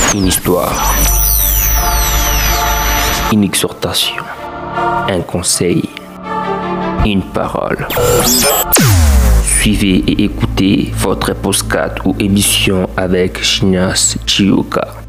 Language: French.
Une histoire, une exhortation, un conseil, une parole. Suivez et écoutez votre podcast ou émission avec Shnas Chioka.